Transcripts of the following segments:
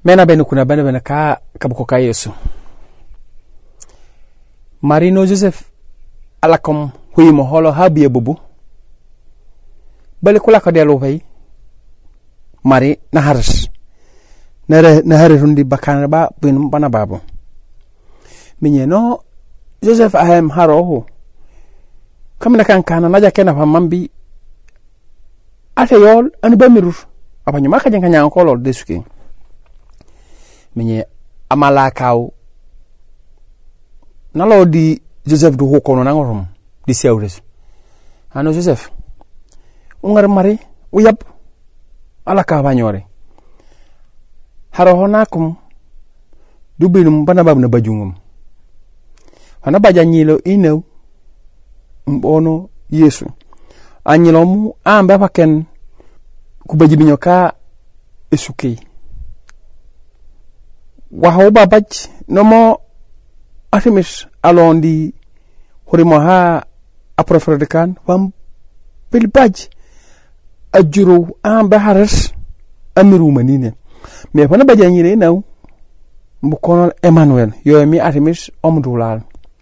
mena bene kuna bene ka kabuko ka Yesu Marino Joseph alakom huyimo holo habiye bubu bale kula ka delo fay mari na haris na harirundi bakana ba bin bana babo minye no Joseph ahem haroho kamina kana naja kena fa mambi ate yol anu bamirur apanyo maka janganya kolol desuke minye amala kaw nalo di Joseph do hokono nangorum di sewres ano Joseph ungar mari uyab ala ka banyore haro honakum dubinum bana babna bajungum ana bajanyilo inew mbono Yesu anyilomu amba paken kubajibinyo ka esuke wa hoba baj nomo Artemis alondi horimo ha aprofrodekan wam pilbaj ajuru amba haras amiru manine me fana bajanyire naw mbukono Emmanuel yo mi Artemis omdulal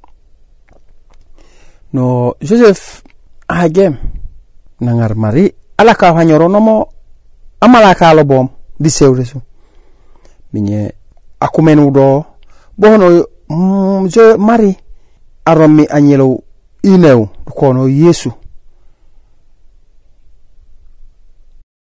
no Joseph agem nangar mari ala ka hanyoro nomo amala ka lo bom di sewresu minye akumenu do bono je mari aromi anyelo inew kono Yesu